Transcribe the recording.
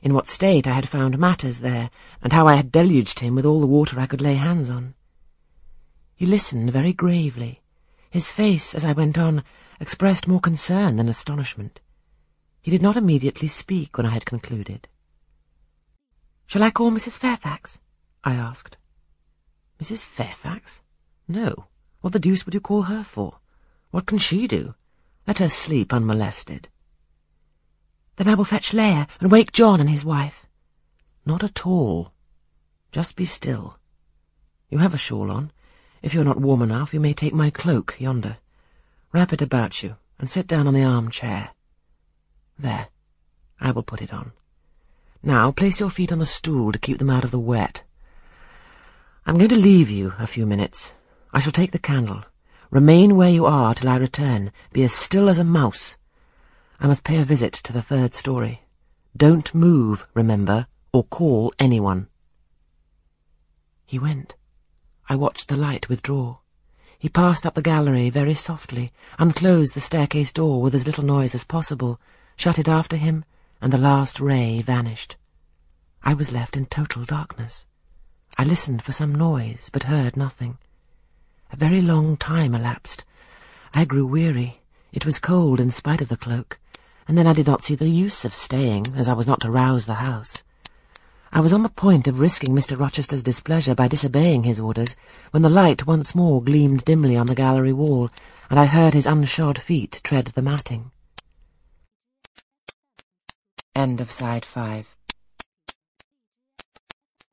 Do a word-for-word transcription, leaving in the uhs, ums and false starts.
in what state I had found matters there, and how I had deluged him with all the water I could lay hands on. He listened very gravely. His face, as I went on, expressed more concern than astonishment. He did not immediately speak when I had concluded. "Shall I call Missus Fairfax?" I asked. "Missus Fairfax? No. What the deuce would you call her for? What can she do? Let her sleep unmolested." "Then I will fetch Leah and wake John and his wife." "Not at all. Just be still. You have a shawl on. If you are not warm enough, you may take my cloak yonder. Wrap it about you, and sit down on the armchair. There, I will put it on. Now place your feet on the stool to keep them out of the wet. I'm going to leave you a few minutes. I shall take the candle. Remain where you are till I return. Be as still as a mouse. I must pay a visit to the third story. Don't move, remember, or call anyone." He went. I watched the light withdraw. He passed up the gallery very softly, unclosed the staircase door with as little noise as possible, shut it after him, and the last ray vanished. I was left in total darkness. I listened for some noise, but heard nothing. A very long time elapsed. I grew weary. It was cold in spite of the cloak, and then I did not see the use of staying, as I was not to rouse the house. I was on the point of risking Mister Rochester's displeasure by disobeying his orders, when the light once more gleamed dimly on the gallery wall, and I heard his unshod feet tread the matting. End of Side five.